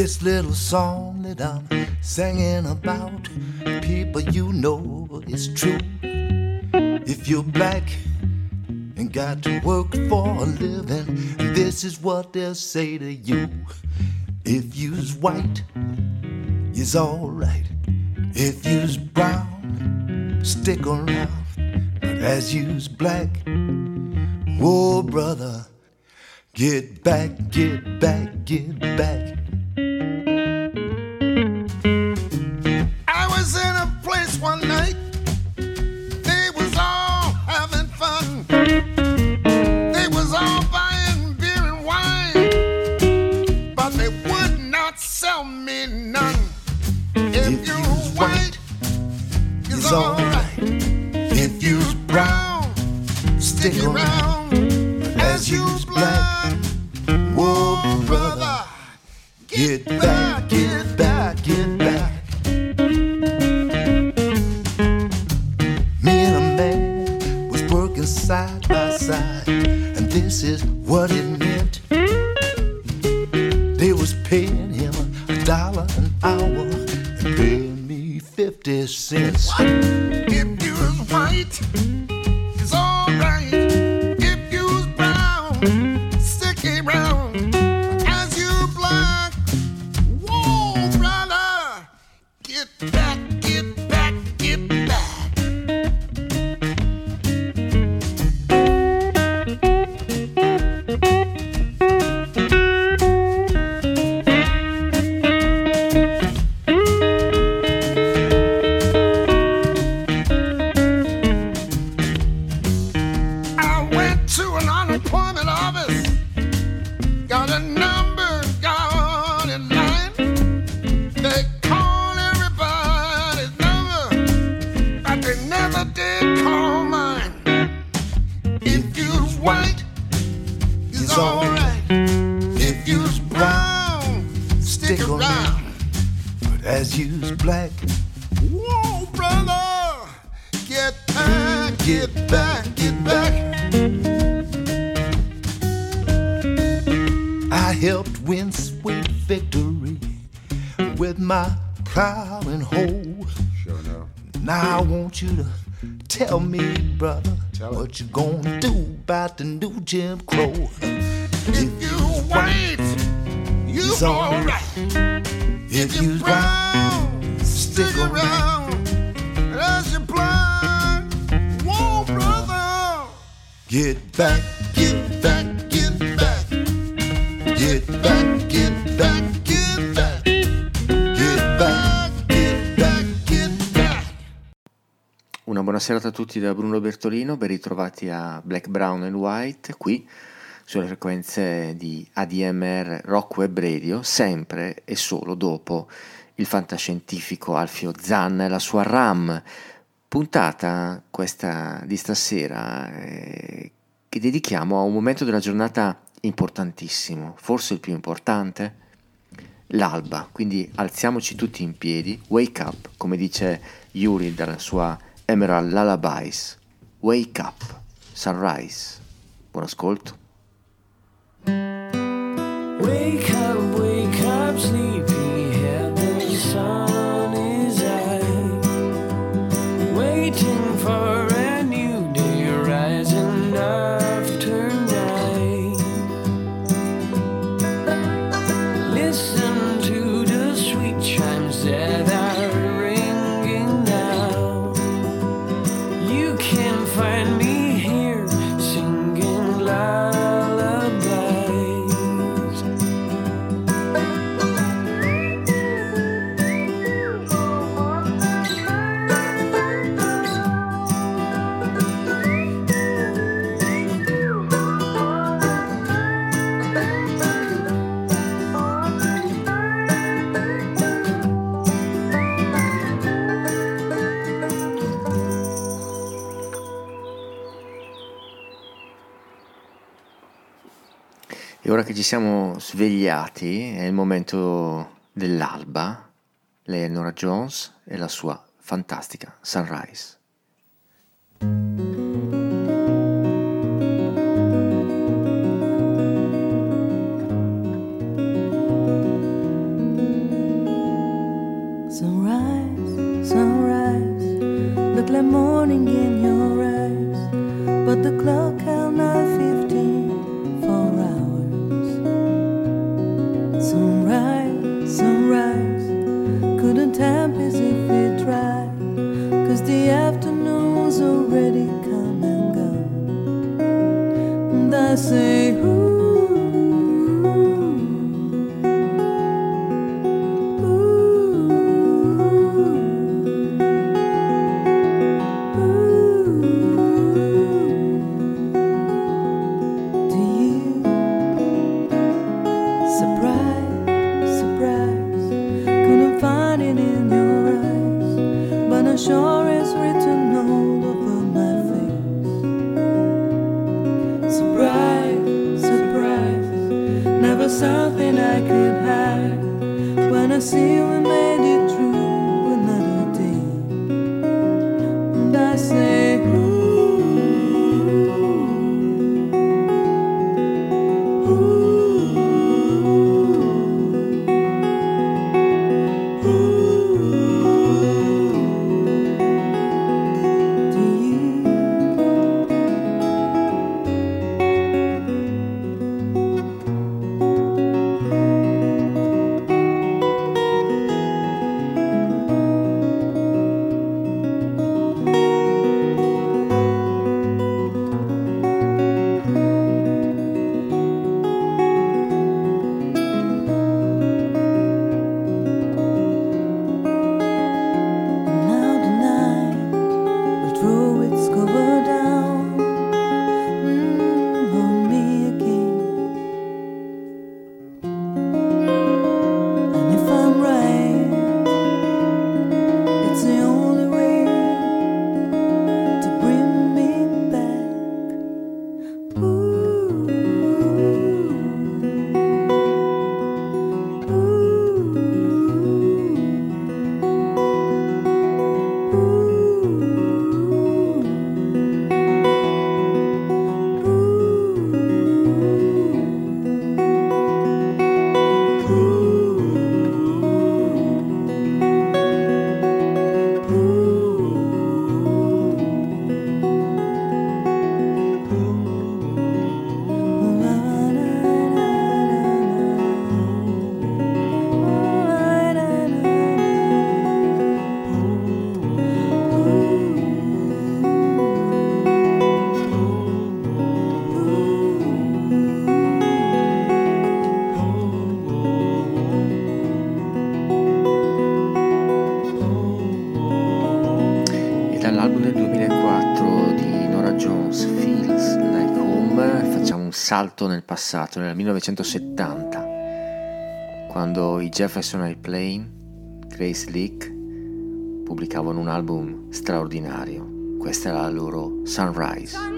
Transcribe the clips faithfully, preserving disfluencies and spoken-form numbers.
This little song that I'm singing about, people, you know it's true. If you're black and got to work for a living, this is what they'll say to you. If you's white, you's alright. If you's brown, stick around. But as you's black, whoa brother, get back, get back, get back. I was in a place one night, they was all having fun. They was all buying beer and wine, but they would not sell me none. If, if you're white, it's alright. If you're brown, stick around. But as you's black, whoa brother, get back, get back, get back. Me and a man was working side by side, and this is what it meant. They was paying him a dollar an hour and paying me fifty cents. What? If you was white, it's alright. If you was brown, stick around. As you black, whoa brother, get back, get back, get back. Black, whoa brother, get back, get back, get back. I helped win sweet victory with my proud and whole. Sure no. Now I want you to tell me, brother, tell what you gonna do about the new Jim Crow. If you white, you alright. If you brown, stick around. As you blind, whoa brother, get back, get back, get back, get back, get back, get back, get back, get back, get back. Una buona serata a tutti da Bruno Bertolino, ben ritrovati a Black, Brown and White, qui sulle frequenze di A D M R Rock Web Radio, sempre e solo dopo il fantascientifico Alfio Zanna e la sua RAM, puntata questa di stasera eh, che dedichiamo a un momento della giornata importantissimo, forse il più importante, l'alba. Quindi alziamoci tutti in piedi, wake up, come dice Yuri dalla sua Emerald Lullabies, wake up, sunrise. Buon ascolto. Wake up, wake up, sleepyhead, the sun is out, waiting for a new day rising after night. Listen to the sweet chimes that are ringing now. You can find me here singing lullabies. E ora che ci siamo svegliati è il momento dell'alba, lei è Norah Jones e la sua fantastica Sunrise. finding in your eyes, but the clock held nine fifteen for hours. Sunrise, sunrise, couldn't tempest if we tried, 'cause the afternoon's already come and gone. And I say, ooh, sure is written all over my face. Surprise, surprise, never something I could hide. When I see we made it through another day, and I say, ooh, salto nel passato, nel millenovecentosettanta, quando i Jefferson Airplane, Grace Leak, pubblicavano un album straordinario. Questa era la loro Sunrise.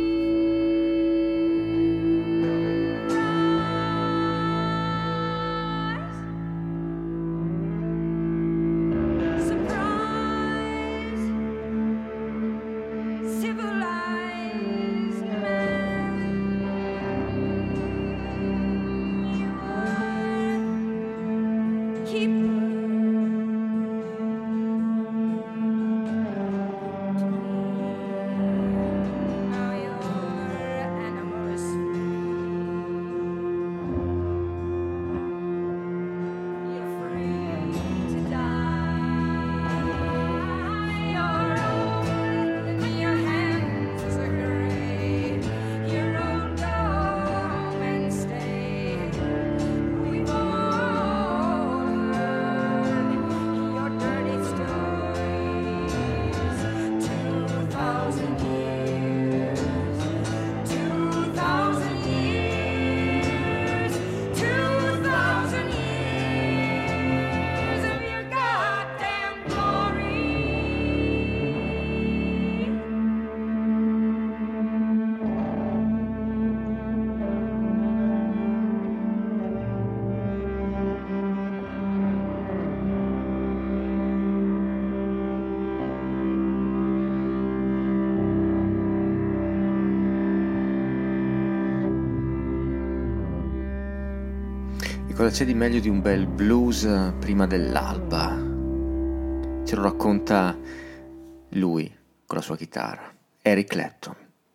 Cosa c'è di meglio di un bel blues prima dell'alba? Ce lo racconta lui, con la sua chitarra. Eric Clapton.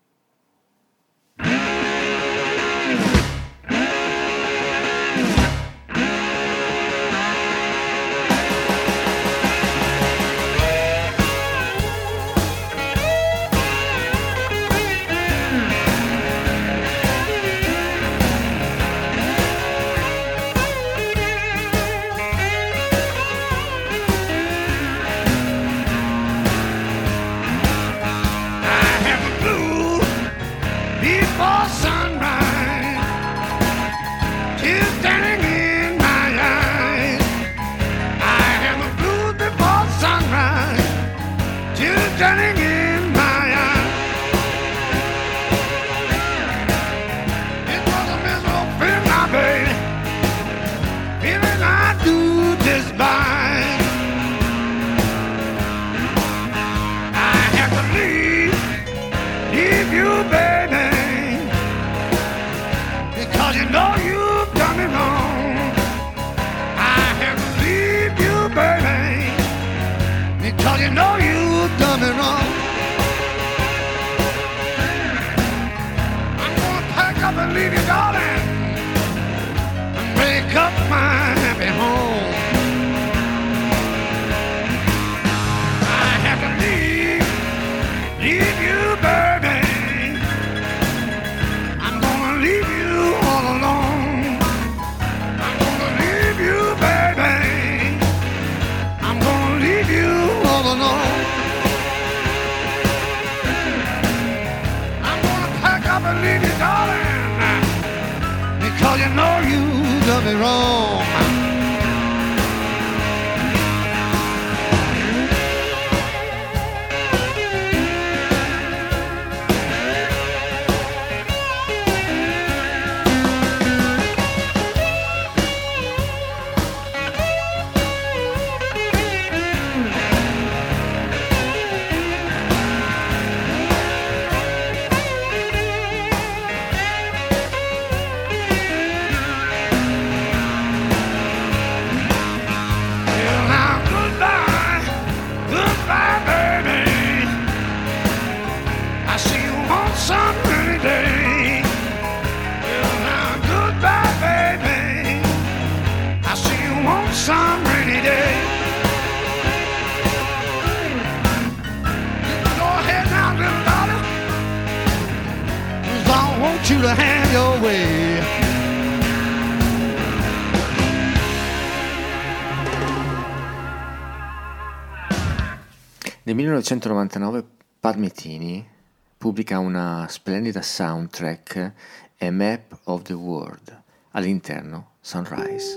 Nel millenovecentonovantanove Pat Metheny pubblica una splendida soundtrack, A Map of the World, all'interno Sunrise.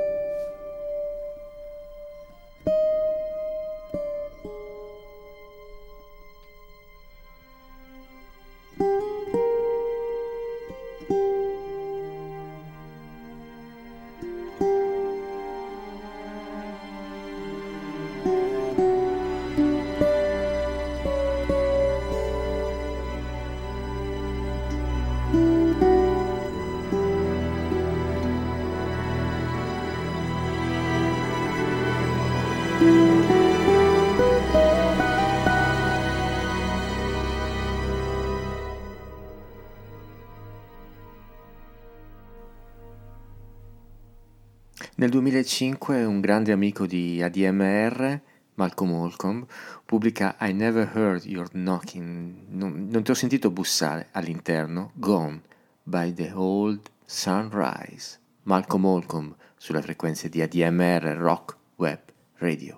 Nel duemilacinque un grande amico di A D M R, Malcolm Holcomb, pubblica I Never Heard Your Knocking, non, non ti ho sentito bussare, all'interno Gone by the Old Sunrise. Malcolm Holcomb sulle frequenze di A D M R Rock Web Radio.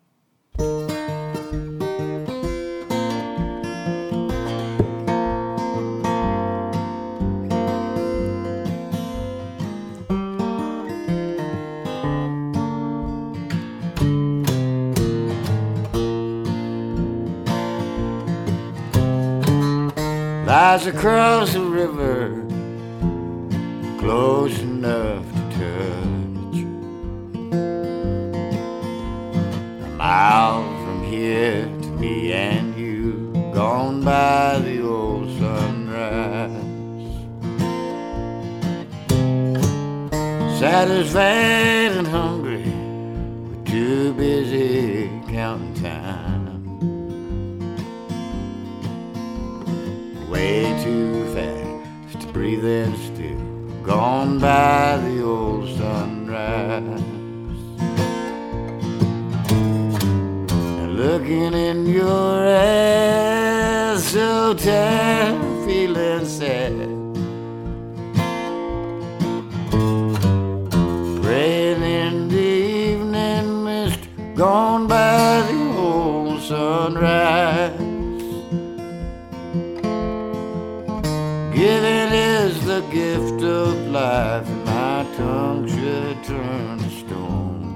Lies across the river, close enough to touch. A mile from here to me and you, gone by the old sunrise. Satisfied and hungry, we're too busy counting time. way too fast to breathe in still. Gone by the old sunrise. And looking in your eyes, so tired, feeling sad. Praying in the evening mist, gone by the old sunrise. Giving is the gift of life, and my tongue should turn to stone.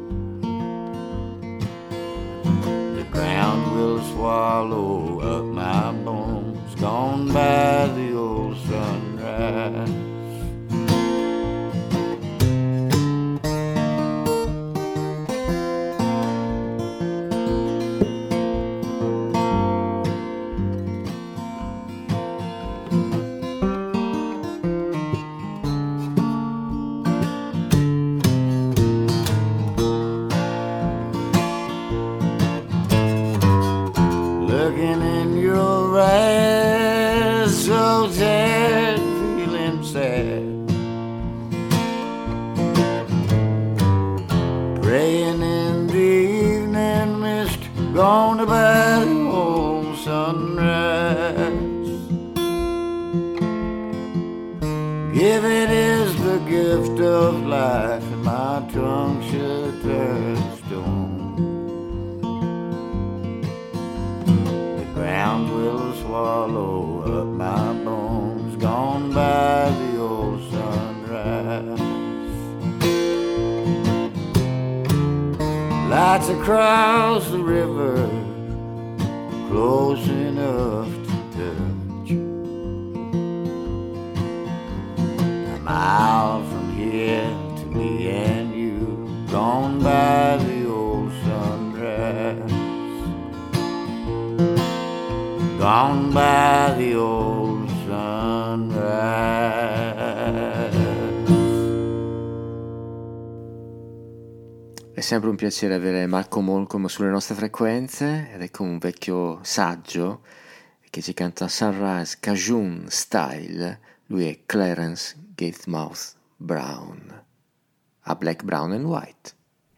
The ground will swallow up my bones, gone by the old sunrise. Looking in your eyes, so sad, feeling sad. Praying in the evening mist, gone by the old sunrise. Giving is the gift of life, and my tongue should turn to stone. Ground will swallow up my bones, gone by the old sunrise. Lights across the river, close enough to touch. A mile from here to me and you, gone by the old sunrise. Gone by the old sunrise. È sempre un piacere avere Malcolm Malcolm sulle nostre frequenze, ed ecco un vecchio saggio che ci canta Sunrise Cajun Style. Lui è Clarence Gatemouth Brown, a Black, Brown and White.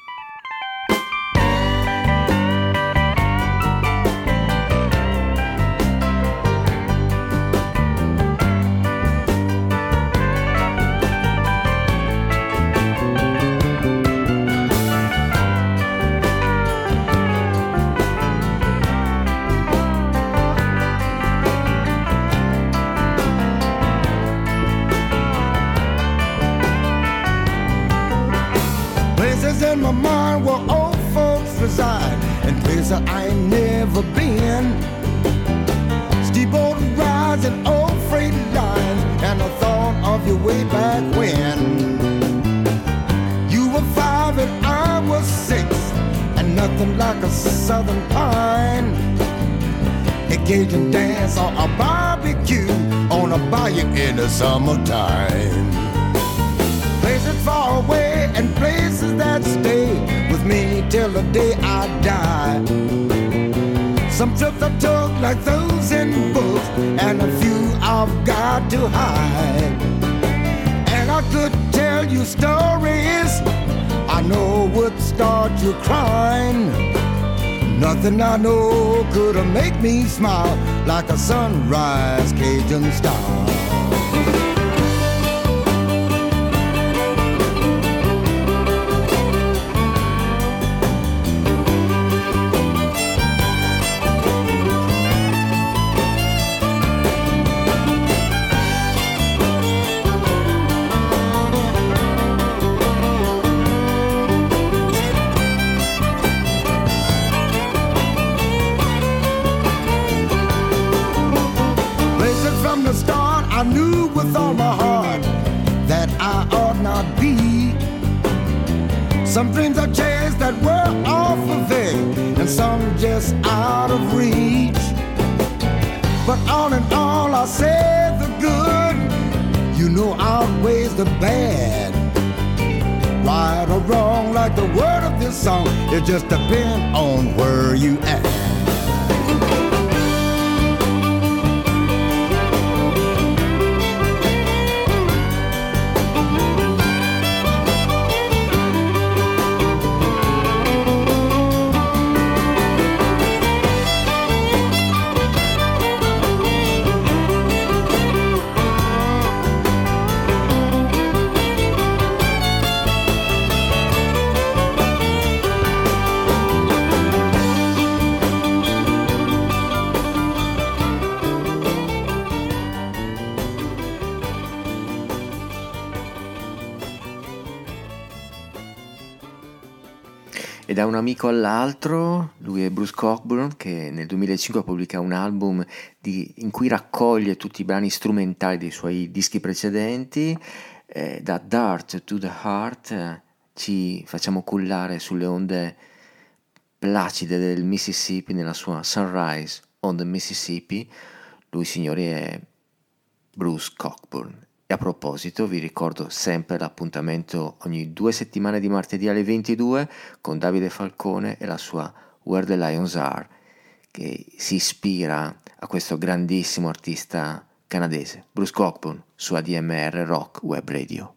In my mind where old folks reside, and places I ain't never been. Steep old rides and old freight lines, and I thought of you way back when. You were five and I was six, and nothing like a southern pine. A Cajun dance or a barbecue on a bayou in the summertime. Places far away and places that stay with me till the day I die. Some trips I took like those in books, and a few I've got to hide. And I could tell you stories I know would start you crying. Nothing I know could make me smile like a sunrise Cajun style. I knew with all my heart that I ought not be. Some dreams I chased that were awful vague, and some just out of reach. But all in all, I say the good, you know, outweighs the bad. Right or wrong, like the word of this song, it just depends on where you at. E da un amico all'altro, lui è Bruce Cockburn, che nel duemilacinque pubblica un album di, in cui raccoglie tutti i brani strumentali dei suoi dischi precedenti. Eh, da Dirt to the Heart eh, ci facciamo cullare sulle onde placide del Mississippi nella sua Sunrise on the Mississippi. Lui, signori, è Bruce Cockburn. E a proposito, vi ricordo sempre l'appuntamento ogni due settimane di martedì alle ventidue con Davide Falcone e la sua Where the Lions Are, che si ispira a questo grandissimo artista canadese, Bruce Cockburn, su A D M R Rock Web Radio.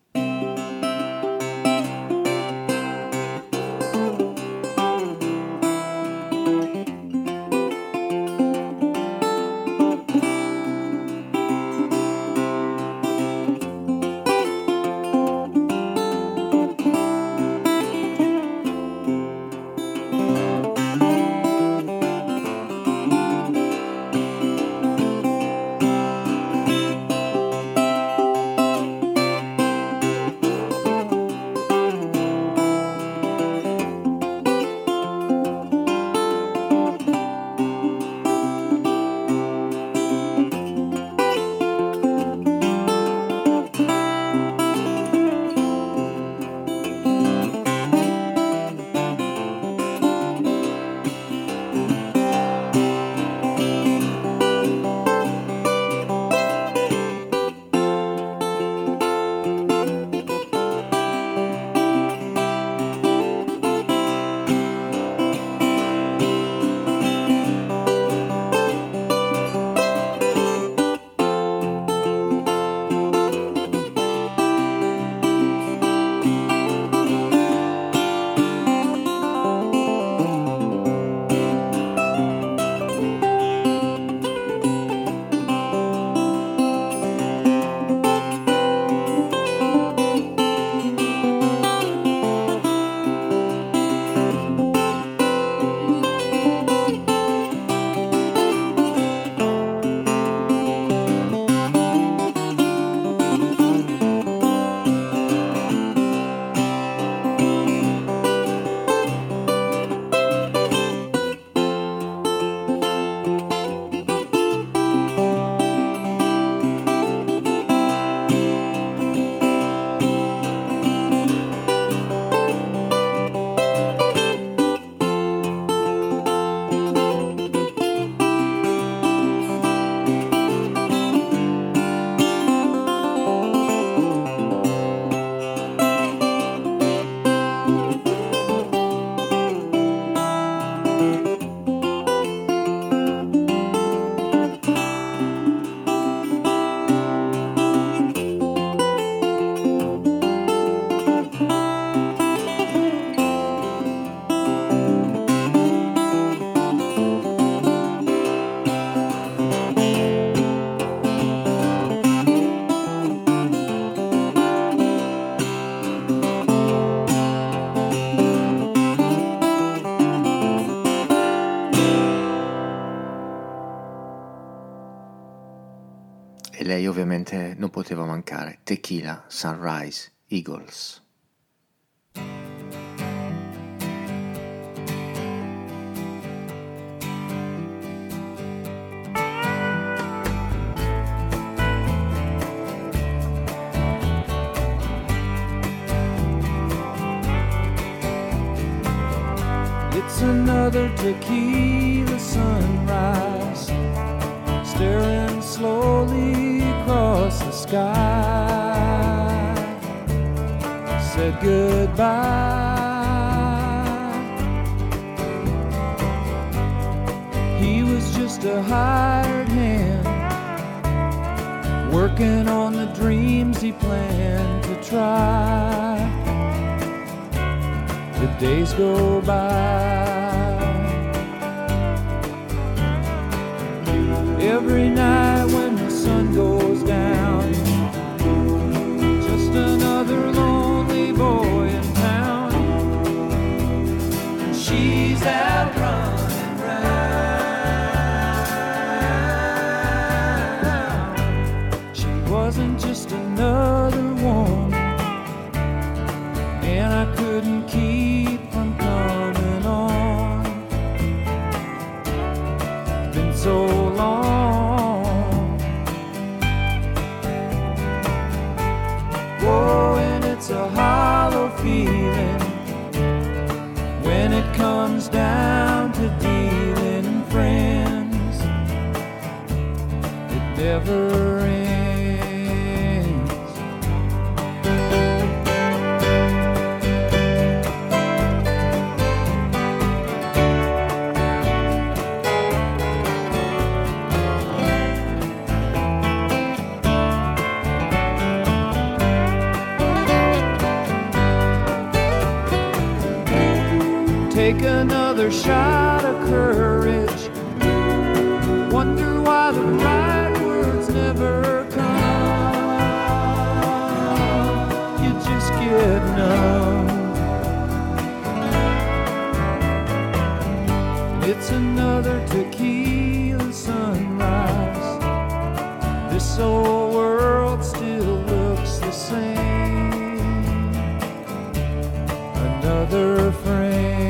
E lei ovviamente non poteva mancare, Tequila Sunrise Eagles. It's another tequila sunrise, staring slowly across the sky. Said goodbye. He was just a hired hand, working on the dreams he planned to try. The days go by. Every night when the sun goes down, just another lonely boy in town. She's out running round. She wasn't just another woman, and I couldn't keep from coming never ends. Take another shot of courage. Wonder why the right words never come. You just get numb. It's another tequila sunrise. This old world still looks the same. Another frame.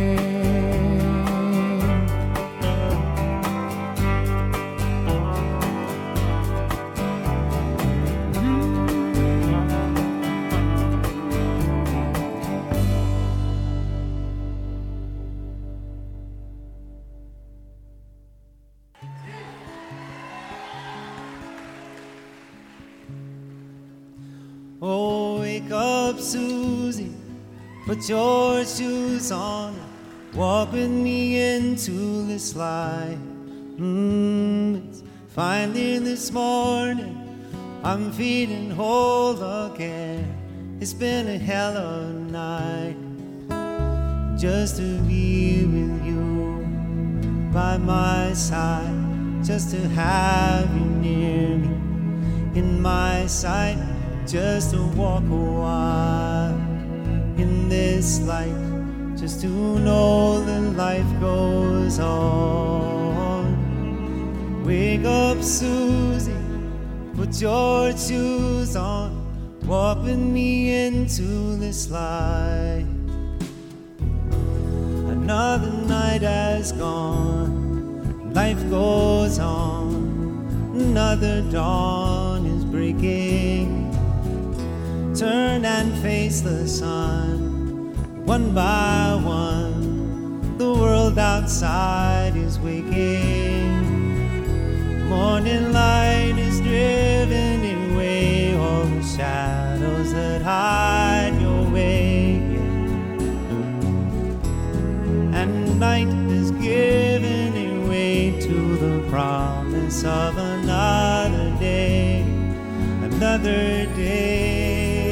Oh, wake up, Susie, put your shoes on, walk with me into this light. Mm, it's finally this morning, I'm feeling whole again. It's been a hell of a night, just to be with you by my side, just to have you near me in my sight. Just to walk a while in this light, just to know that life goes on. Wake up, Susie, put your shoes on, walk with me into this light. Another night has gone, life goes on, another dawn is breaking. Turn and face the sun, one by one. The world outside is waking. Morning light is driven away all the shadows that hide your way. And night is given away to the promise of another day, another day.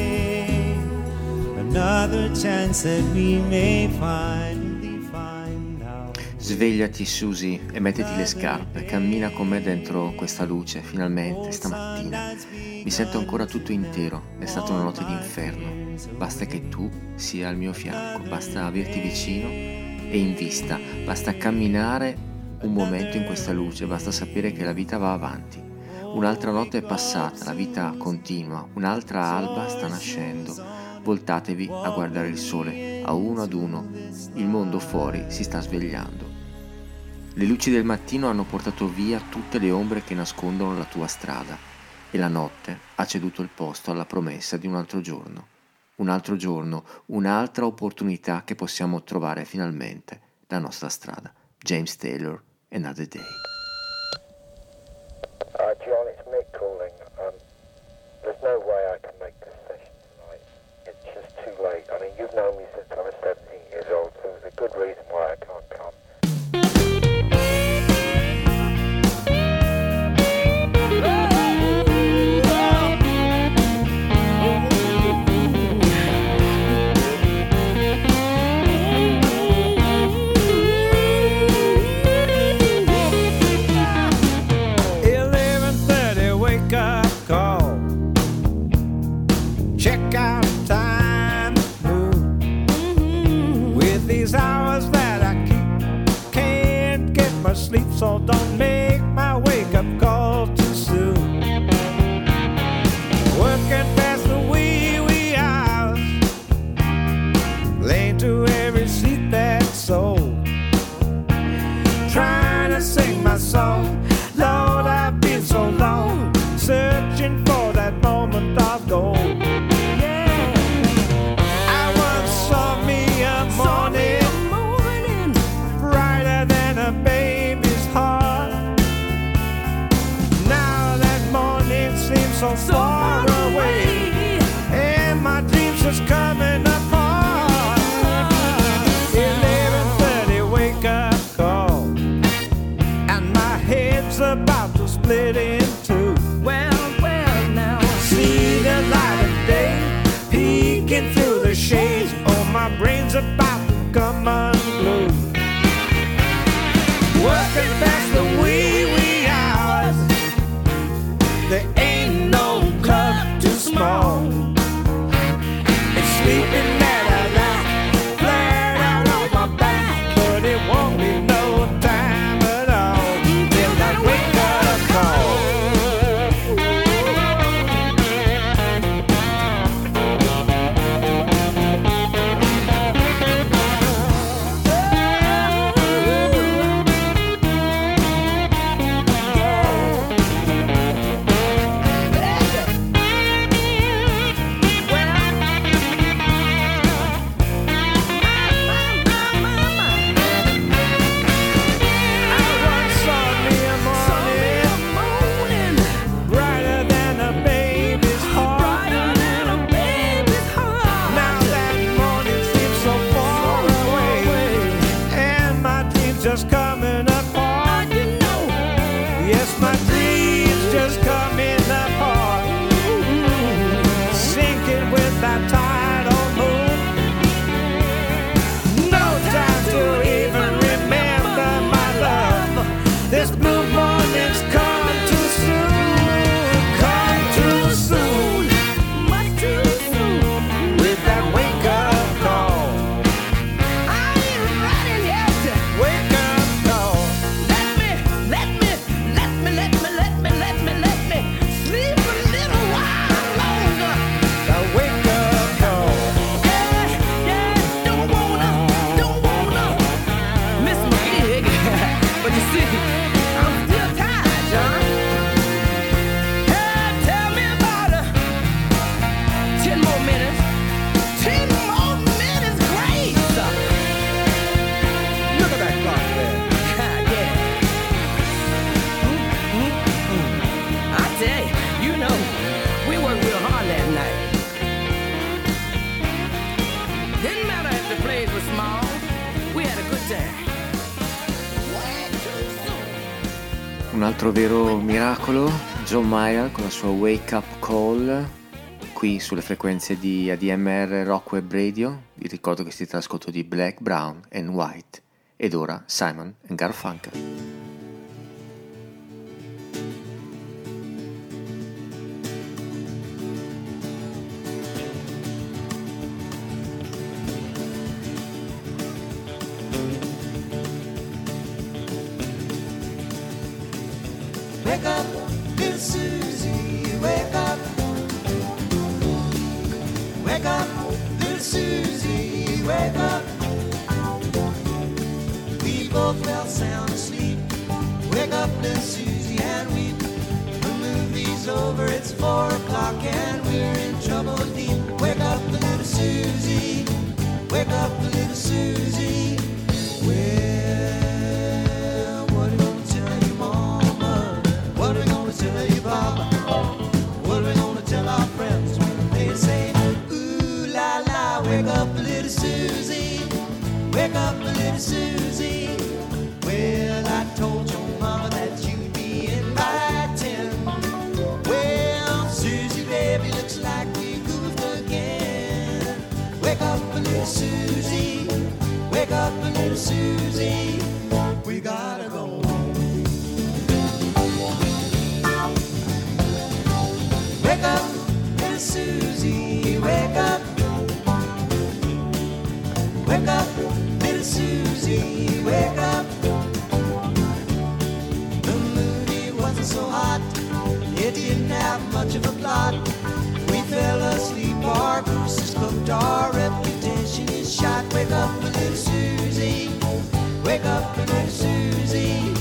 Another chance that we may finally find out. Svegliati, Susie, e mettiti le scarpe. Cammina con me dentro questa luce, finalmente, stamattina. Mi sento ancora tutto intero. È stata una notte d'inferno. Basta che tu sia al mio fianco, basta averti vicino e in vista. Basta camminare un momento in questa luce, basta sapere che la vita va avanti. Un'altra notte è passata, la vita continua, un'altra alba sta nascendo. Voltatevi a guardare il sole, a uno ad uno, il mondo fuori si sta svegliando. Le luci del mattino hanno portato via tutte le ombre che nascondono la tua strada e la notte ha ceduto il posto alla promessa di un altro giorno. Un altro giorno, un'altra opportunità che possiamo trovare finalmente la nostra strada. James Taylor, Another Day. Uh, John, it's Mick calling. Um, there's no way I can make this session tonight. It's just too late. I mean, you've known me since I was seventeen years old, so there's a good reason why I can't come. eleven thirty wake up call. Check out time move. With these hours that I keep, can't get much sleep, so don't make my wake up call too soon. Working past the wee wee hours, laying to every sleep that's soul. Trying to sing my song, Lord, I've been so long, searching for that moment of gold. Yeah. I once saw me a morning, brighter than a baby's heart. so far away, and my dreams just coming apart. eleven thirty wake up call, and my head's about to split in two. Well, well, now See the light of day peeking through the shades. Oh, my brain's about to come unglued. Working past the wee wee hours, there ain't no club too small. It's sleeping at a night, flat out on my back, but it won't be no time at all till that wake up call. Just coming apart, you know. Yes, my dreams just coming apart, sinking with that tidal moon. No time to even remember my love. This blue morning's come too soon, come too soon, much too soon. With that wake up call, I ain't running yet. Wake up call. Let me, let me, let me, let me, let me, let me, let me sleep a little while longer. The wake up call. yeah, yeah, don't wanna, don't wanna miss my gig. But you see, I'm still tired, John. Hey, tell me about it. Ten more minutes. Ten more minutes, great. Look at that clock there. Yeah. I tell you, you know, we worked real hard last night. Didn't matter if the place was small, we had a good time. Way too soon. Un altro vero miracolo, John Mayer con la sua Wake Up Call, qui sulle frequenze di A D M R Rock Web Radio. Vi ricordo che siete all'ascolto di Black, Brown and White. Ed ora Simon and Garfunkel. Wake up, little Susie, wake up. Wake up, little Susie, wake up. We both fell sound asleep. Wake up, little Susie, and weep. The movie's over, it's four o'clock, and we're in trouble deep. Wake up, little Susie, wake up, little Susie. Well, what are we gonna tell you, Mama? What are we gonna tell you, Papa? What are we gonna tell our friends when they say, ooh la la, wake up, little Susie, wake up, little Susie. Well, I told your mama that you'd be in by ten. Well, Susie, baby, looks like we goofed again. Wake up, little Susie, wake up, little Susie. We gotta go home. Wake up, little Susie, wake up. Wake up, little Susie, wake up. The movie wasn't so hot, it didn't have much of a plot. We fell asleep, our goose is cooked, our reputation is shot. Wake up, little Susie, wake up, little Susie.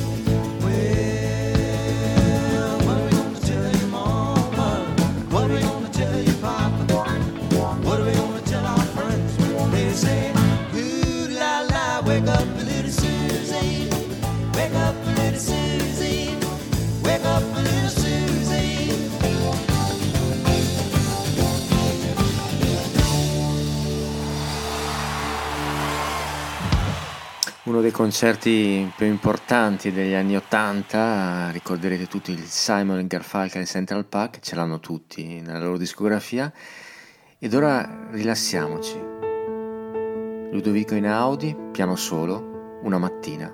Well, what are we gonna tell you, Mama? What are we gonna tell you, Papa? What are we gonna tell our friends when they say, ooh la la, wake up, little Susie, wake up, little Susie, wake up, little Susie. Uno dei concerti più importanti degli anni ottanta, ricorderete tutti il Simon e Garfunkel in Central Park, ce l'hanno tutti nella loro discografia. Ed ora rilassiamoci. Ludovico Einaudi, piano solo, Una mattina.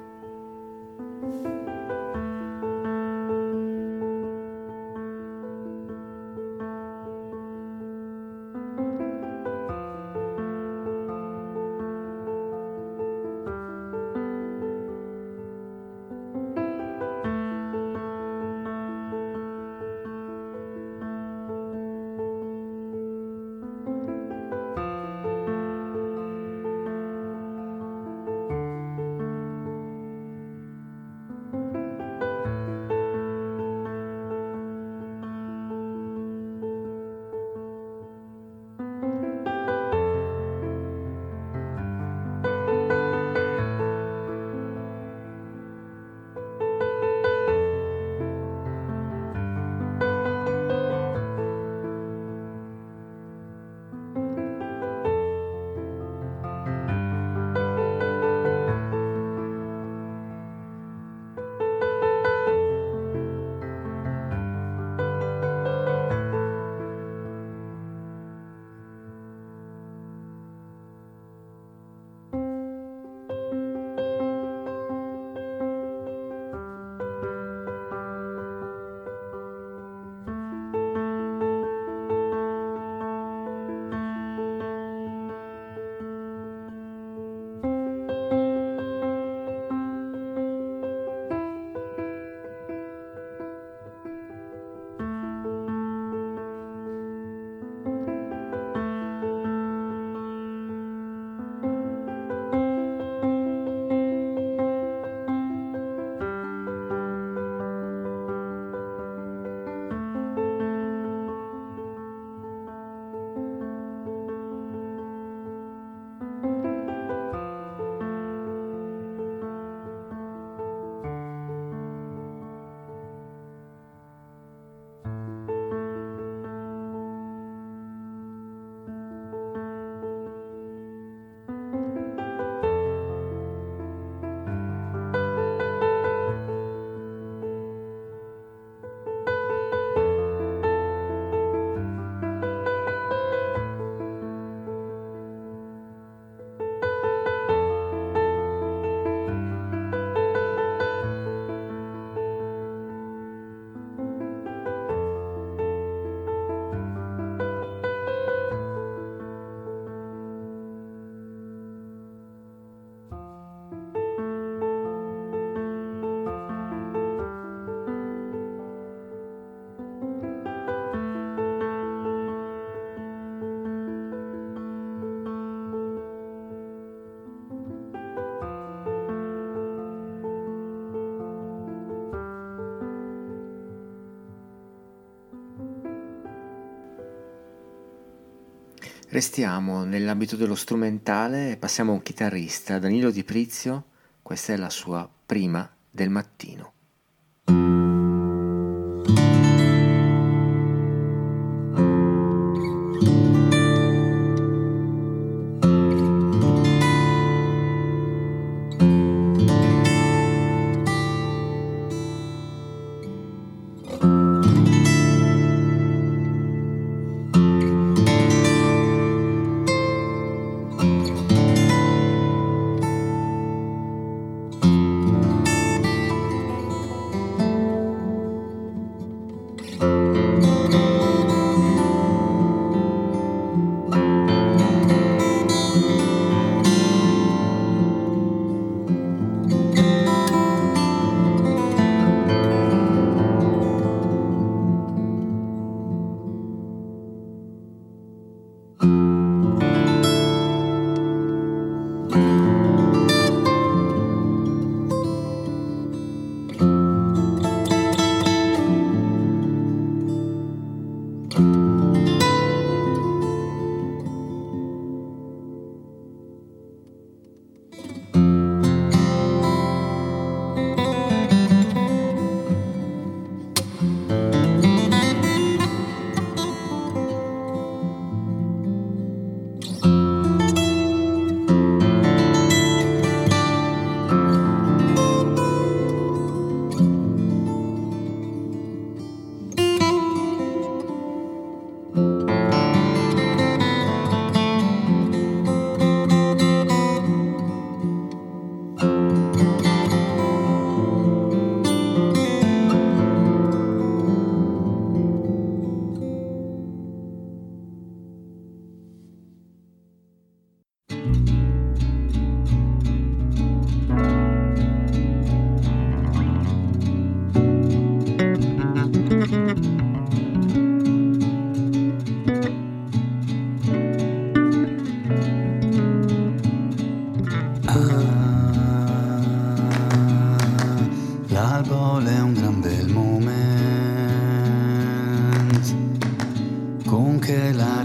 Restiamo nell'ambito dello strumentale e passiamo a un chitarrista, Danilo Di Prizio. Questa è la sua Prima del mattino.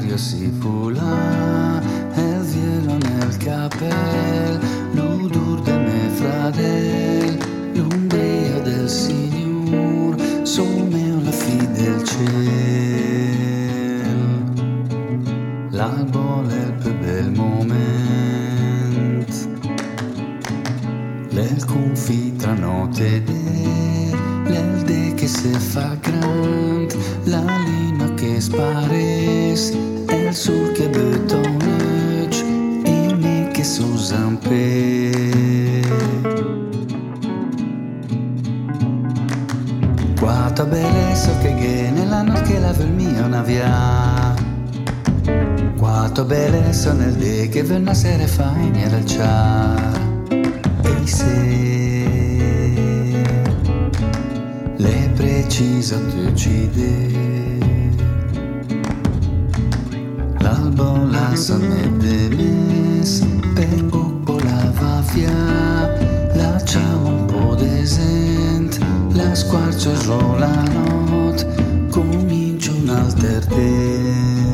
l'aria si fula e il velo nel capel, l'odor de me fradel, l'ombria del Signor, somme la fi del ciel. L'albo è il più bel moment, l'el confitra notte de, l'el de che se fa grand, la lina che spares, el sul che betonage, e me che s'usan pe. Quanta bellezza che viene la notte che la vel mia navia, quanta bellezza nel de che vel nasere fine del ciar, e se le precisa ti uccide, l'albo la sa me demes, per poco la va via, lasciamo un po' d'esent, la squarcio giù la notte, comincio un alter te.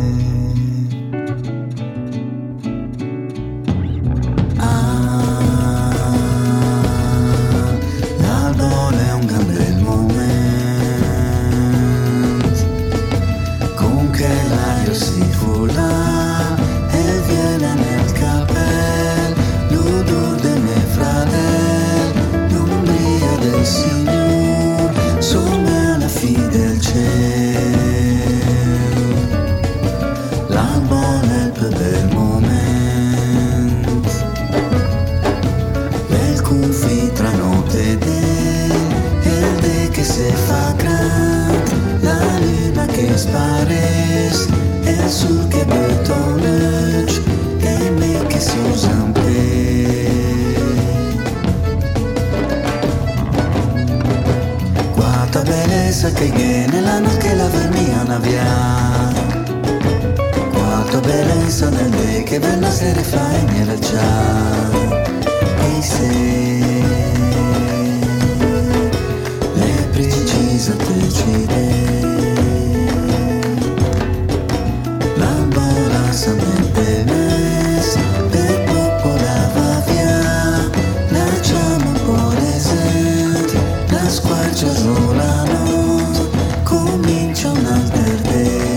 Spares, el sur che betonage, e me che si usan pe. Quanta bellezza che viene la notte che la vermia navia, quanta bellezza nel de che ven la sere fa e mi era già, e se le precisa te uccide. Mente mes, per poco la va via, lasciamo un po' d'esente, la squarcia giù la notte, comincia un alter day.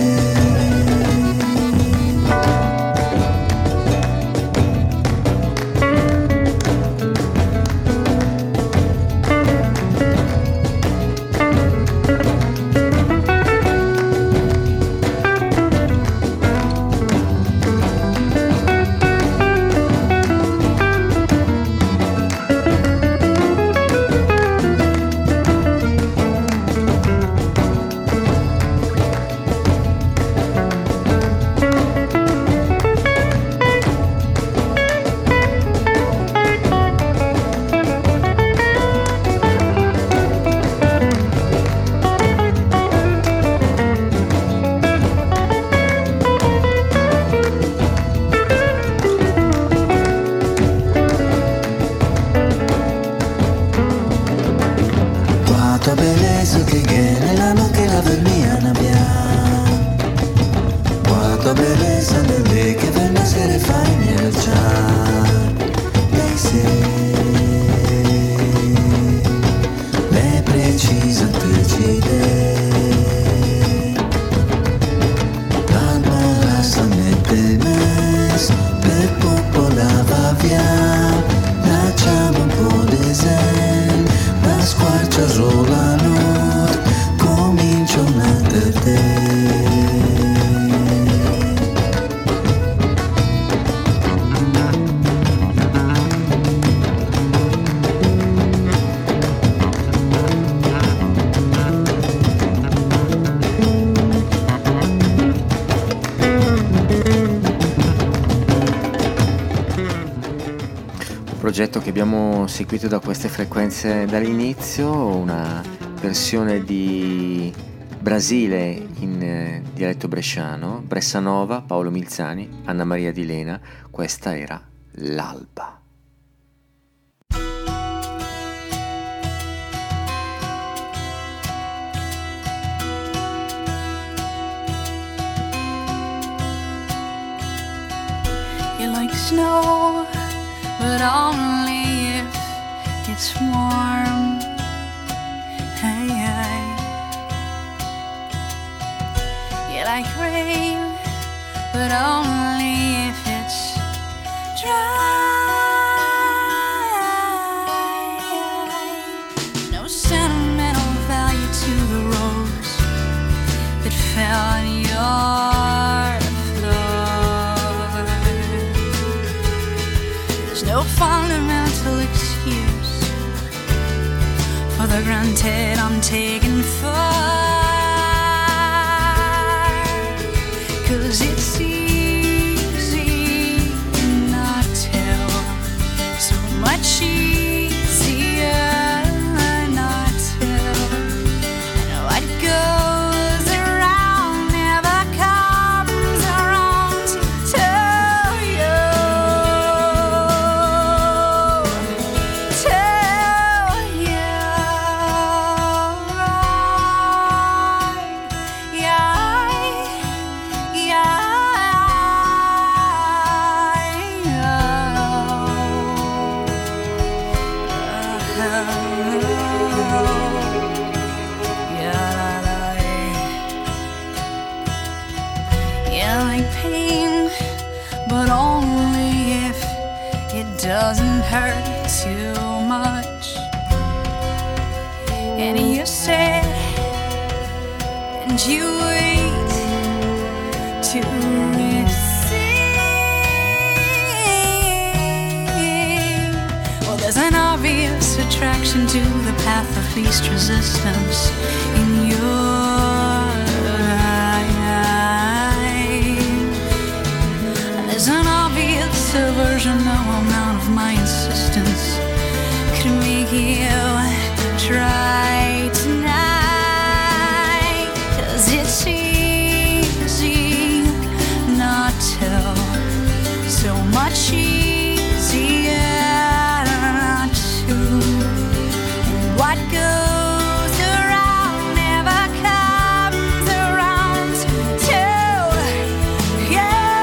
Progetto che abbiamo seguito da queste frequenze dall'inizio, una versione di Brasile in eh, dialetto bresciano, Bressanova, Paolo Milzani, Anna Maria Di Lena. Questa era L'Alba. snow, but only if it's warm. Hey, hey. You like rain, but only if it's dry. No sentimental value to the rose that fell on your floor. There's no fundamental excuse for the granted I'm taking for. 'Cause it's easy not tell, so much easier not tell. And what goes around never comes around to you, to you. Yeah. But only if it doesn't hurt too much. And you said, and you wait to receive. Well, there's an obvious attraction to the path of least resistance in your an obvious aversion, no amount of my insistence could make you try tonight. 'Cause it's easy not to, so much easier not to. And what goes around never comes around to you.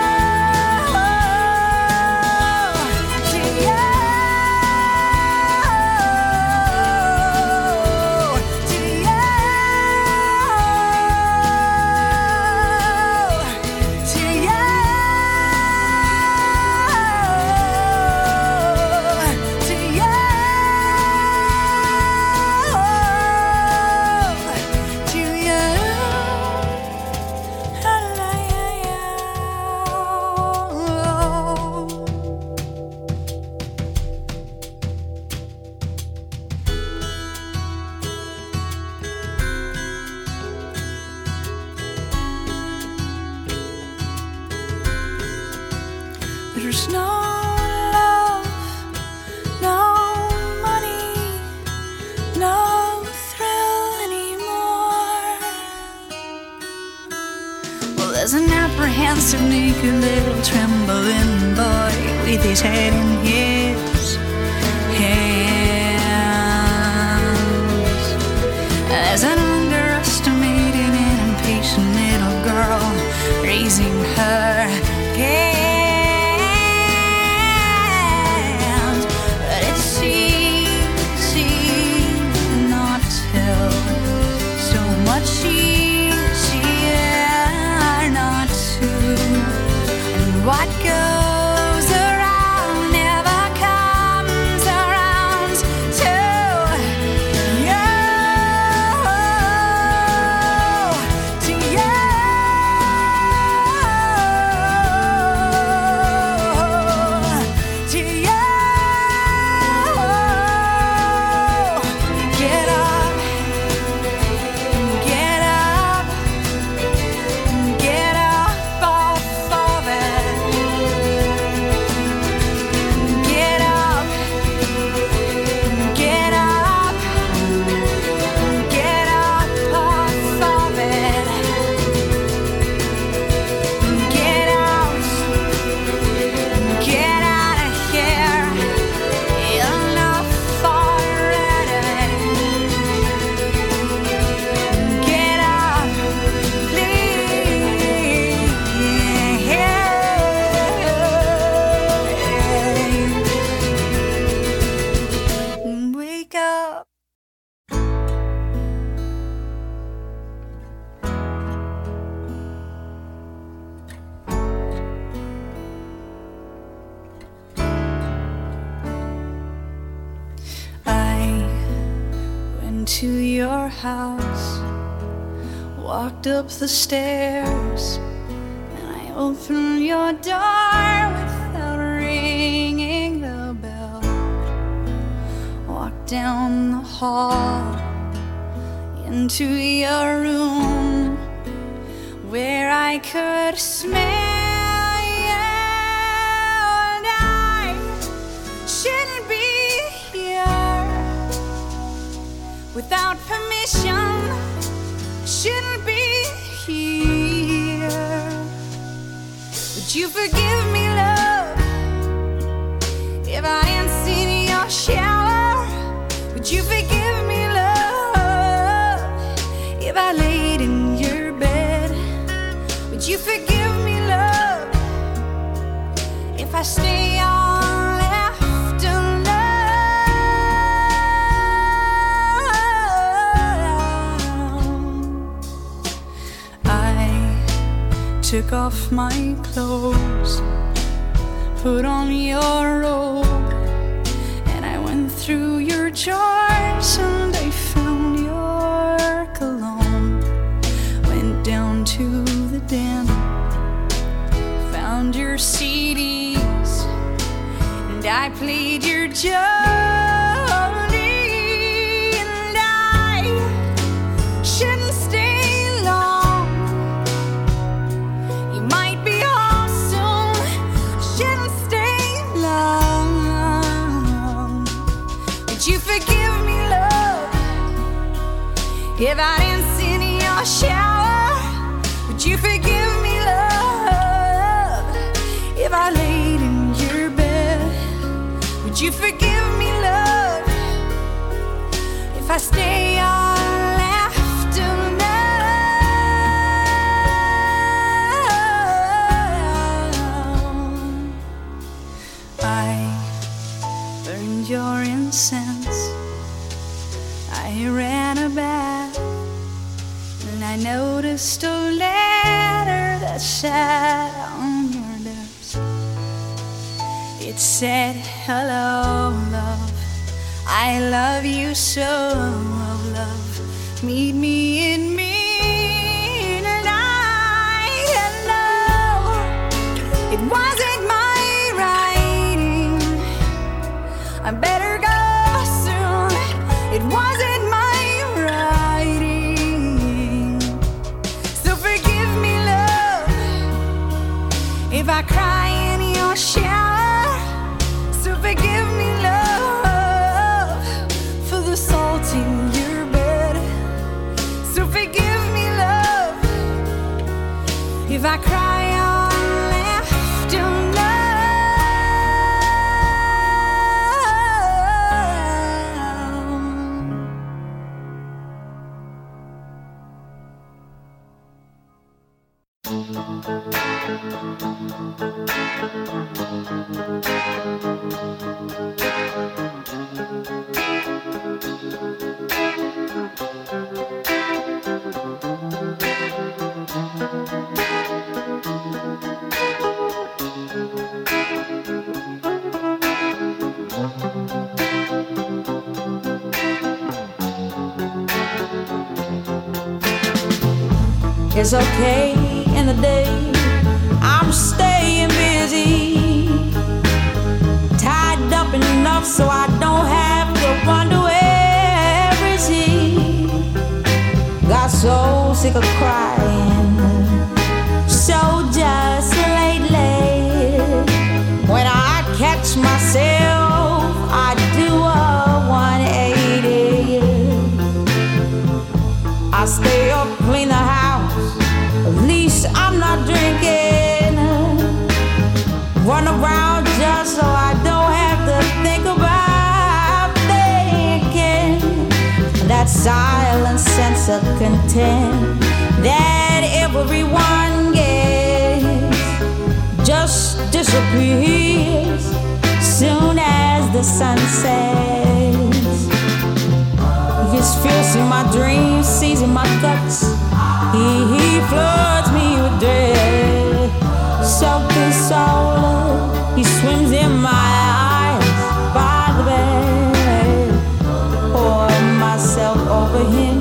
There's no love, no money, no thrill anymore. Well, there's an apprehensive, naked little trembling boy with his head in his hands. There's an underestimated and impatient little girl raising her gaze. Much easier not to. And what goes around never comes around to you. your house, walked up the stairs, and I opened your door without ringing the bell. Walked down the hall into your room where I could smell you, and I shouldn't be here without permission. Shouldn't be here. Would you forgive me, love, if I didn't sit in your shower? Would you forgive me, love, if I laid in your bed? Would you forgive me, love, if I stay on after love? I took off my clothes, put on your robe, and I went through your drawers and I found your cologne. Went down to the den, found your C Ds, and I played your Jolene, and I shouldn't stay long. You might be home soon, shouldn't stay long. Would you forgive me, love, if I didn't sit in your shower? Would you forgive me, love, if I laid in your bed? Would you forgive me, love, if I stay all afternoon? I burned your incense, I ran a bath, and I noticed a letter that sat on your desk. It said, hello, love, I love you so, love, meet me in midnight. Hello, it wasn't my writing, I better go soon. It wasn't my writing, so forgive me, love, if I cry in your shower. So forgive me, love, for the salt in your bed. So forgive me, love, if I cry all afternoon. It's okay in the day, I'm staying busy, tied up enough so I don't have to wonder where is he. Got so sick of crying, so just lately, when I catch myself, I do a one eighty. I stay up, clean the house, at least I'm not drinking. Run around just so I don't have to think about thinking. That silent sense of content that everyone gets just disappears soon as the sun sets. His fierce in my dreams, seizing my guts. He, he floods me with dread. Soaked in soul, he swims in my eyes by the bed. Pour myself over him.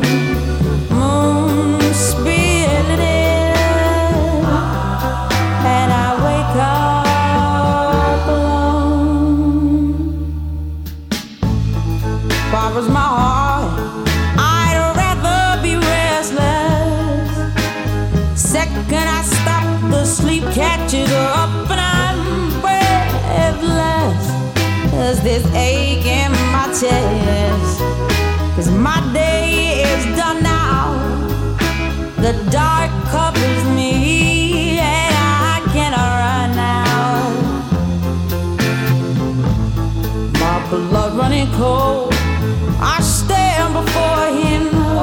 Can I stop the sleep, catch it up, and I'm breathless as this ache in my chest? 'Cause my day is done now. The dark covers me and I cannot run now. My blood running cold, I stand before him.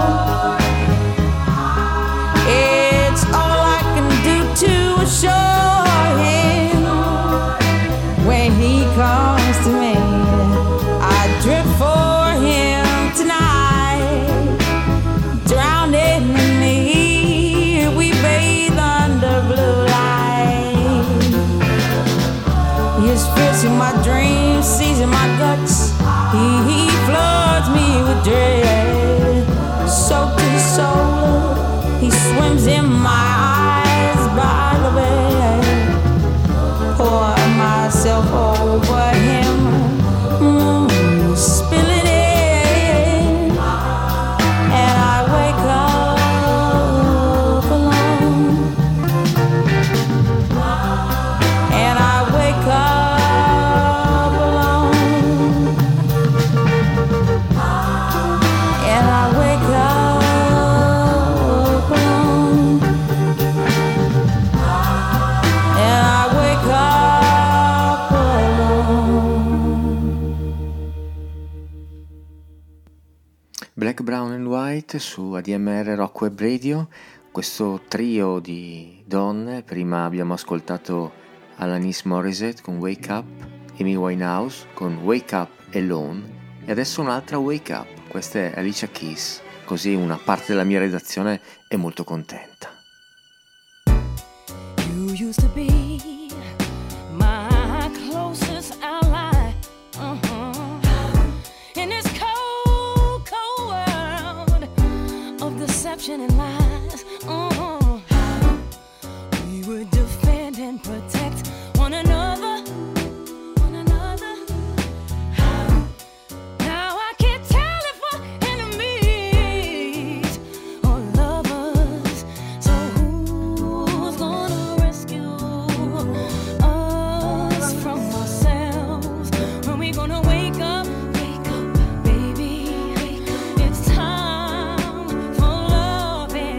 It's all I can do to assure him. When he comes to me, I drip for him tonight. Drowning in me, we bathe under blue light. His fits in my dreams, seizing my guts. He, he floods me with dread. Soaked to the soul, he swims in my eyes by the bed. Pour myself over him, mm, spilling it, and I wake up alone. And I wake up alone. And I wake up alone. And I wake up alone. Black, Brown and White su A D M R Rock Web Radio, questo trio di donne. Prima abbiamo ascoltato Alanis Morissette con Wake Up, Amy Winehouse con Wake Up Alone e adesso un'altra Wake Up, questa è Alicia Keys, così una parte della mia redazione è molto contenta. You used to be my closest ally. Uh-huh. In this cold, cold world of deception and lies. Uh-huh. We would defend and protect one another. One another. Now I can't tell if we're enemies or lovers. So who's gonna rescue us from ourselves? When we gonna wake up? Wake up, baby. It's time for love and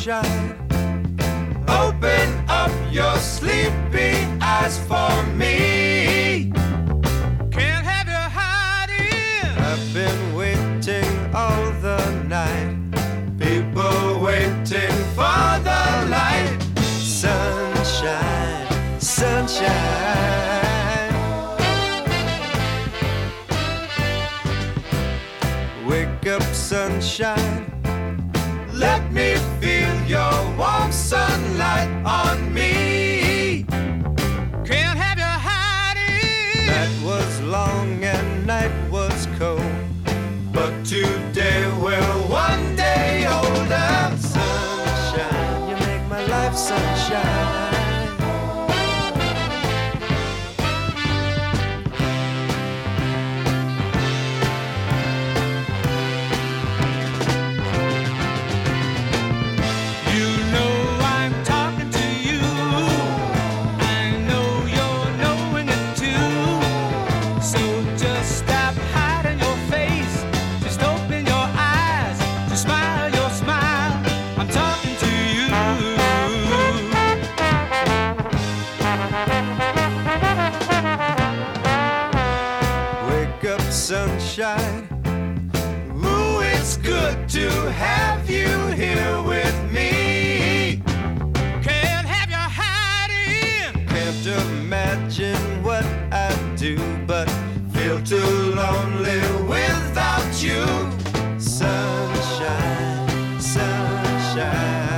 sunshine. Open up your sleepy eyes for me. Can't have you hiding. I've been waiting all the night. People waiting for the light. Sunshine, sunshine. Wake up, sunshine. Let me feel your warm sunlight on me. Can't have you hiding. Night was long and night was cold, but today we're one day older. Sunshine, you make my life sunshine. Sunshine, ooh, it's good to have you here with me. Can't have you hiding. Can't imagine what I'd do, but feel too lonely without you. Sunshine, sunshine.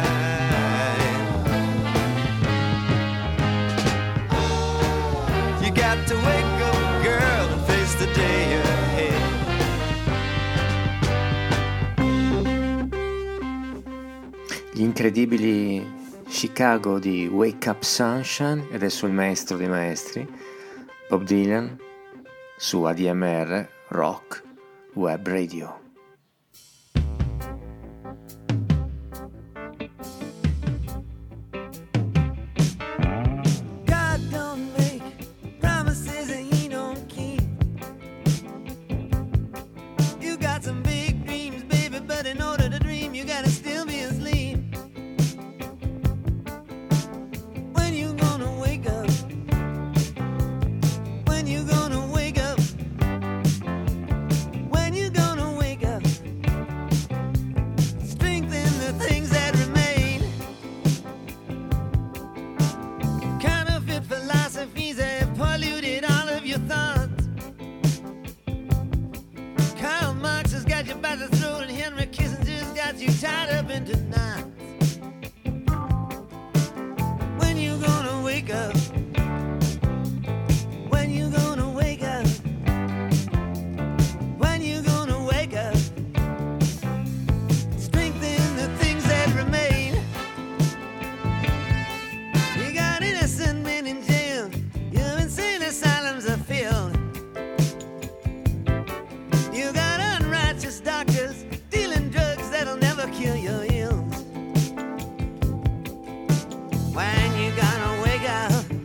You got to wake up, girl, and face the day ahead. Gli incredibili Chicago di Wake Up Sunshine, e adesso il maestro dei maestri, Bob Dylan, su A D M R Rock Web Radio. When you gonna wake up?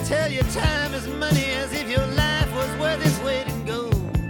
tell you time is money, as if your life was worth its weight in gold.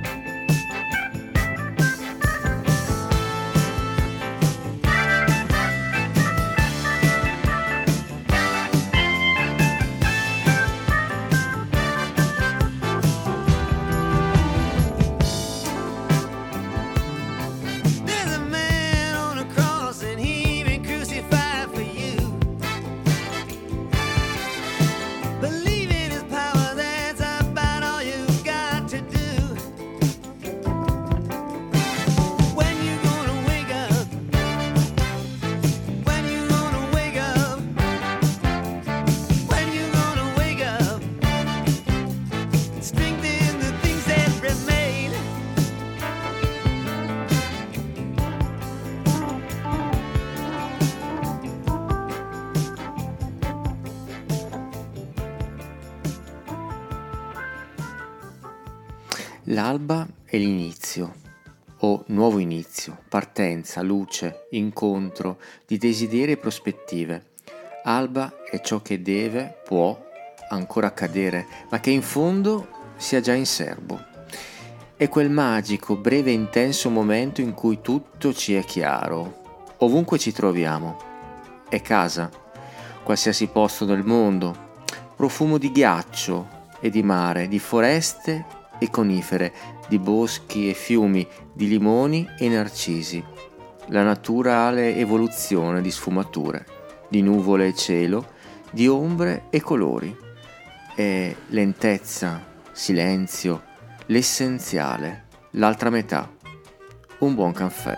L'alba è l'inizio, o nuovo inizio, partenza, luce, incontro di desideri e prospettive. Alba è ciò che deve, può ancora accadere, ma che in fondo sia già in serbo. È quel magico, breve e intenso momento in cui tutto ci è chiaro, ovunque ci troviamo. È casa, qualsiasi posto del mondo, profumo di ghiaccio e di mare, di foreste e conifere, di boschi e fiumi, di limoni e narcisi, la naturale evoluzione di sfumature, di nuvole e cielo, di ombre e colori. È lentezza, silenzio, l'essenziale, l'altra metà, un buon caffè.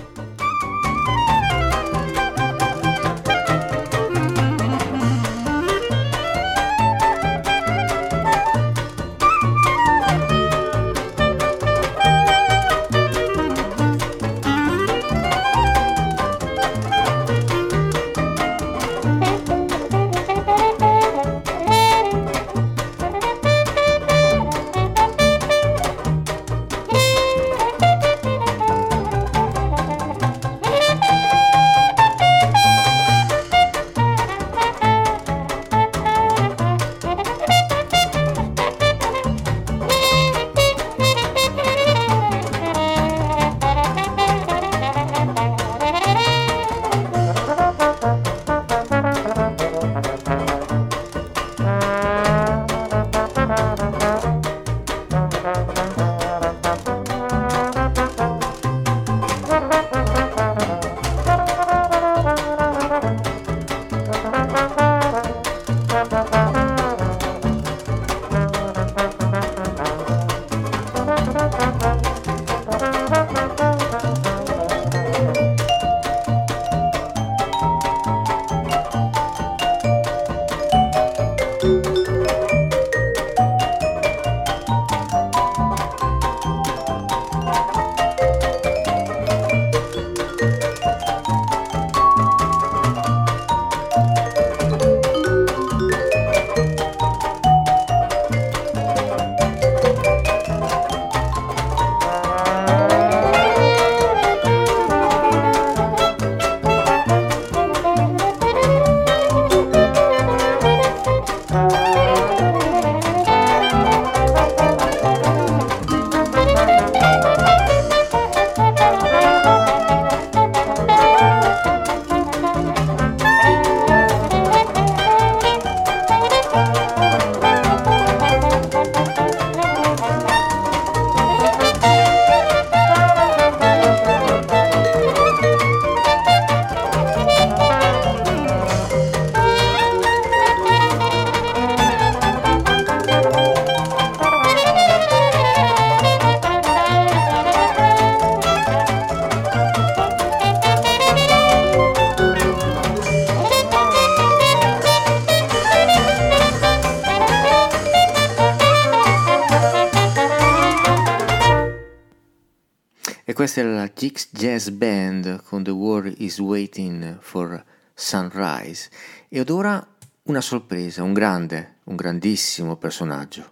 Questa è la Jix Jazz Band con The World is Waiting for Sunrise. Ed ora una sorpresa, un grande, un grandissimo personaggio.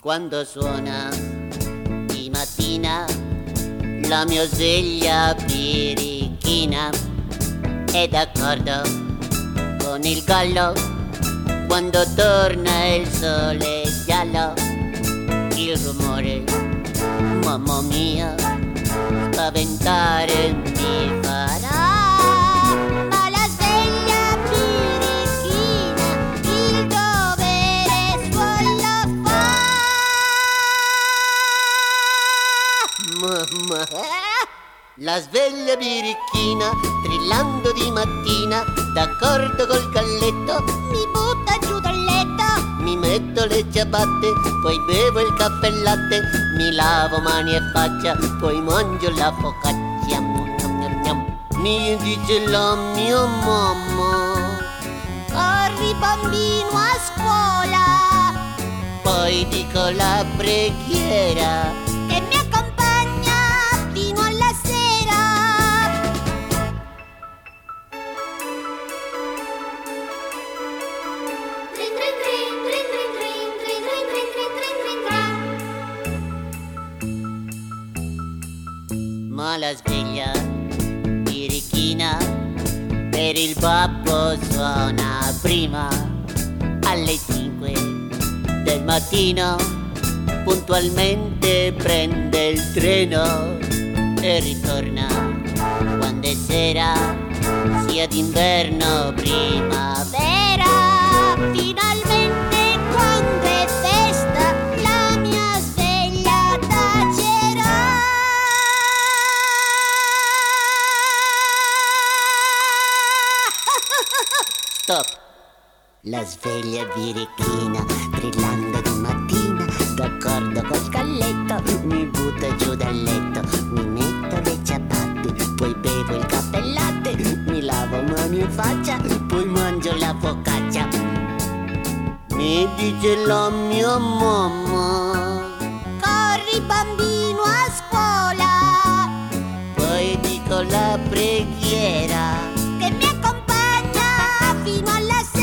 quando suona di mattina la mia sveglia birichina è d'accordo con il gallo quando torna il sole giallo. Il rumore, mamma mia, spaventare mi farà. Ma la sveglia birichina il dovere suo lo fa. Mamma, la sveglia birichina trillando di mattina, d'accordo col galletto, mi butta giù dal letto. Mi metto le ciabatte, poi bevo il caffè e latte, mi lavo mani e faccia, poi mangio la focaccia. Mi dice la mia mamma: corri bambino a scuola. Poi dico la preghiera che mi accompagna fino alla sera. Ma la sveglia birichina per il babbo suona prima alle cinque del mattino, puntualmente prende il treno e ritorna quando è sera, sia d'inverno o primavera. Finalmente quando è festa la mia sveglia tacerà. Stop! La sveglia birichina brillando di mattina, d'accordo col galletto, mi butta giù dal letto, mi metto le ciabatte, poi bevo il caffè e latte, mi lavo mani e faccia, poi mangio la focaccia. Mi dice la mia mamma: corri bambino a scuola. Poi dico la preghiera che mi accompagna fino alla sera.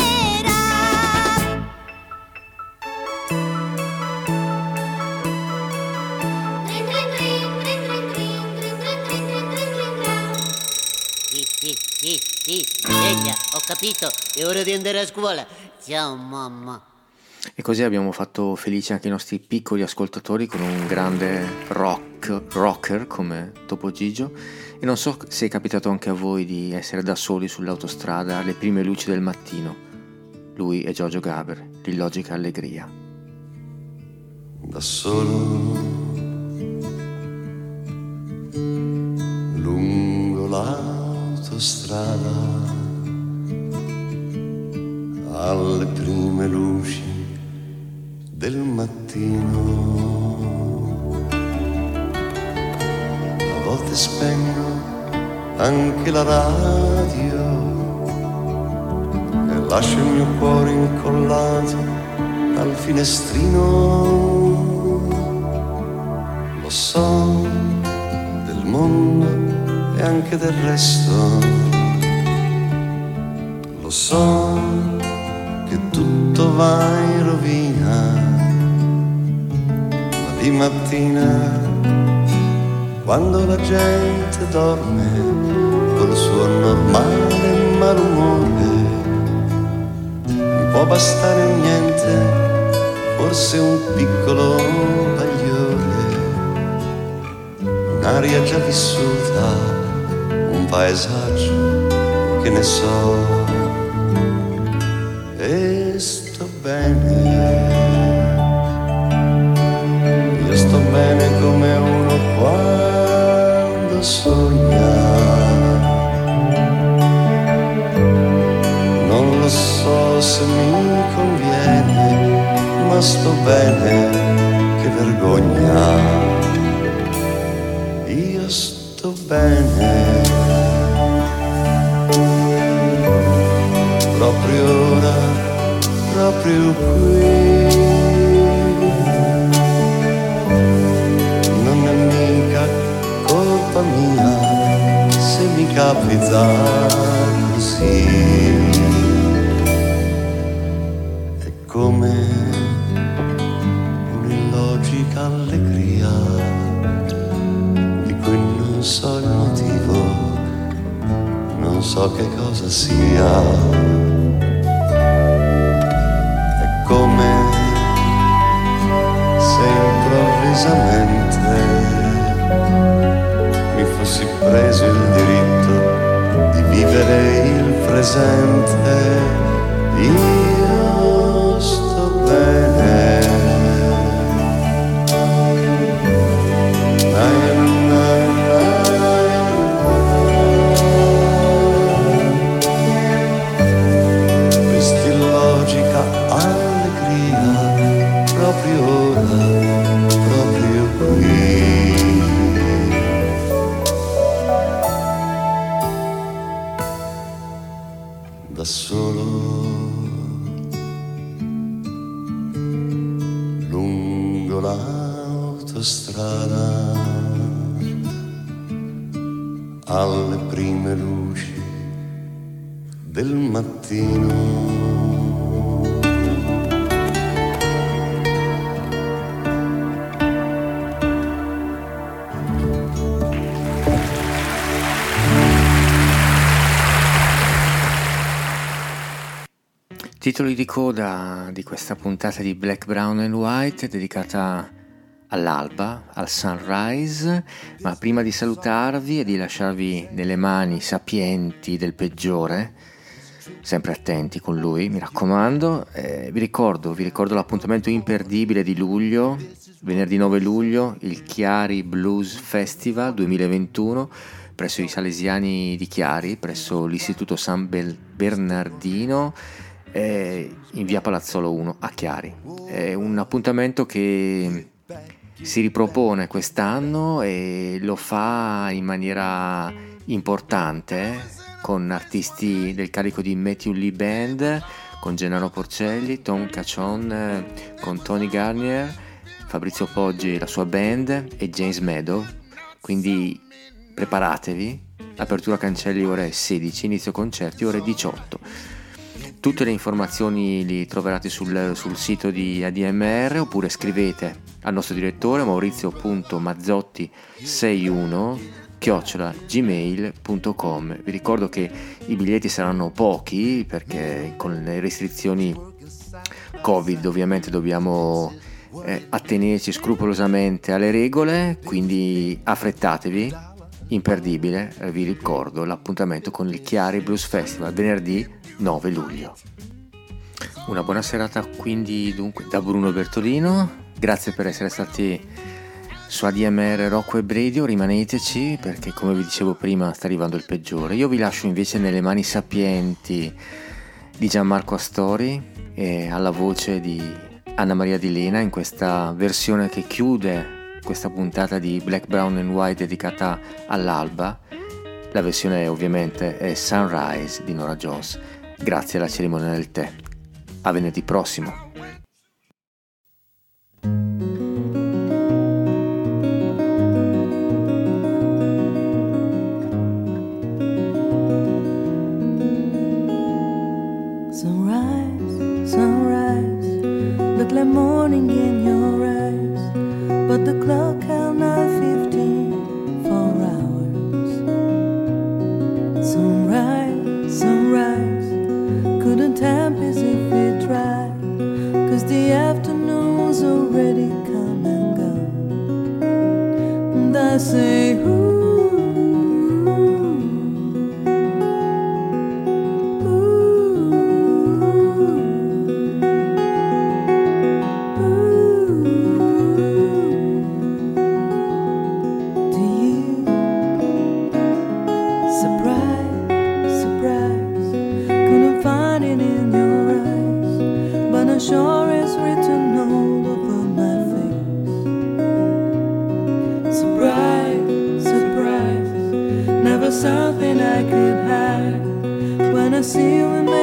Sì, sì, sì, sì, sveglia, ho capito, è ora di andare a scuola. Ciao mamma. E così abbiamo fatto felici anche i nostri piccoli ascoltatori con un grande rock, rocker come Topo Gigio. E non so se è capitato anche a voi di essere da soli sull'autostrada alle prime luci del mattino. Lui è Giorgio Gaber, l'illogica allegria. Da solo lungo l'autostrada alle prime luci del mattino, a volte spengo anche la radio e lascio il mio cuore incollato al finestrino. Lo so del mondo e anche del resto, lo so che tutto va in rovina, ma di mattina, quando la gente dorme col suo normale malumore, mi può bastare niente, forse un piccolo bagliore, un'aria già vissuta, un paesaggio che ne so. E sto bene, io sto bene come uno quando sogna. Non lo so se mi conviene, ma sto bene, che vergogna. Io sto bene, proprio ora, proprio qui. Non è mica colpa mia se mi capita così. È come so che cosa sia. È come se improvvisamente mi fossi preso il diritto di vivere il presente. Io sto bene. Da solo lungo l'autostrada alle prime luci del mattino. Titoli di coda di questa puntata di Black, Brown and White dedicata all'alba, al sunrise, ma prima di salutarvi e di lasciarvi nelle mani sapienti del peggiore, sempre attenti con lui, mi raccomando, eh, vi ricordo, vi ricordo l'appuntamento imperdibile di luglio, venerdì nove luglio, il Chiari Blues Festival duemilaventuno, presso i Salesiani di Chiari, presso l'Istituto San Bernardino, in via Palazzolo uno a Chiari. È un appuntamento che si ripropone quest'anno e lo fa in maniera importante, con artisti del carico di Matthew Lee Band, con Gennaro Porcelli, Tom Caccion, con Tony Garnier, Fabrizio Poggi e la sua band e James Meadow. Quindi preparatevi, apertura cancelli ore sedici, inizio concerti ore diciotto. Tutte le informazioni li troverete sul, sul sito di A D M R, oppure scrivete al nostro direttore maurizio punto mazzotti sessantuno chiocciola gmail punto com. Vi ricordo che i biglietti saranno pochi perché con le restrizioni Covid ovviamente dobbiamo eh, attenerci scrupolosamente alle regole, quindi affrettatevi, imperdibile. Eh, vi ricordo l'appuntamento con il Chiari Blues Festival venerdì nove luglio. Una buona serata quindi dunque da Bruno Bertolino, grazie per essere stati su A D M R Rock Web Radio, rimaneteci perché come vi dicevo prima sta arrivando il peggiore. Io vi lascio invece nelle mani sapienti di Gianmarco Astori e alla voce di Anna Maria Di Lena in questa versione che chiude questa puntata di Black, Brown and White dedicata all'alba. La versione ovviamente è Sunrise di Nora Jones. Grazie alla cerimonia del tè. A venerdì prossimo. Sunrise, sunrise, look like morning in your eyes, but the clock held nine fifteen, four hours. Sunrise, sunrise, couldn't tempest if we tried, 'cause the afternoon's already come and gone. And I say, ooh, sure is written all over my face. Surprise, surprise, never something I could hide. When I see you in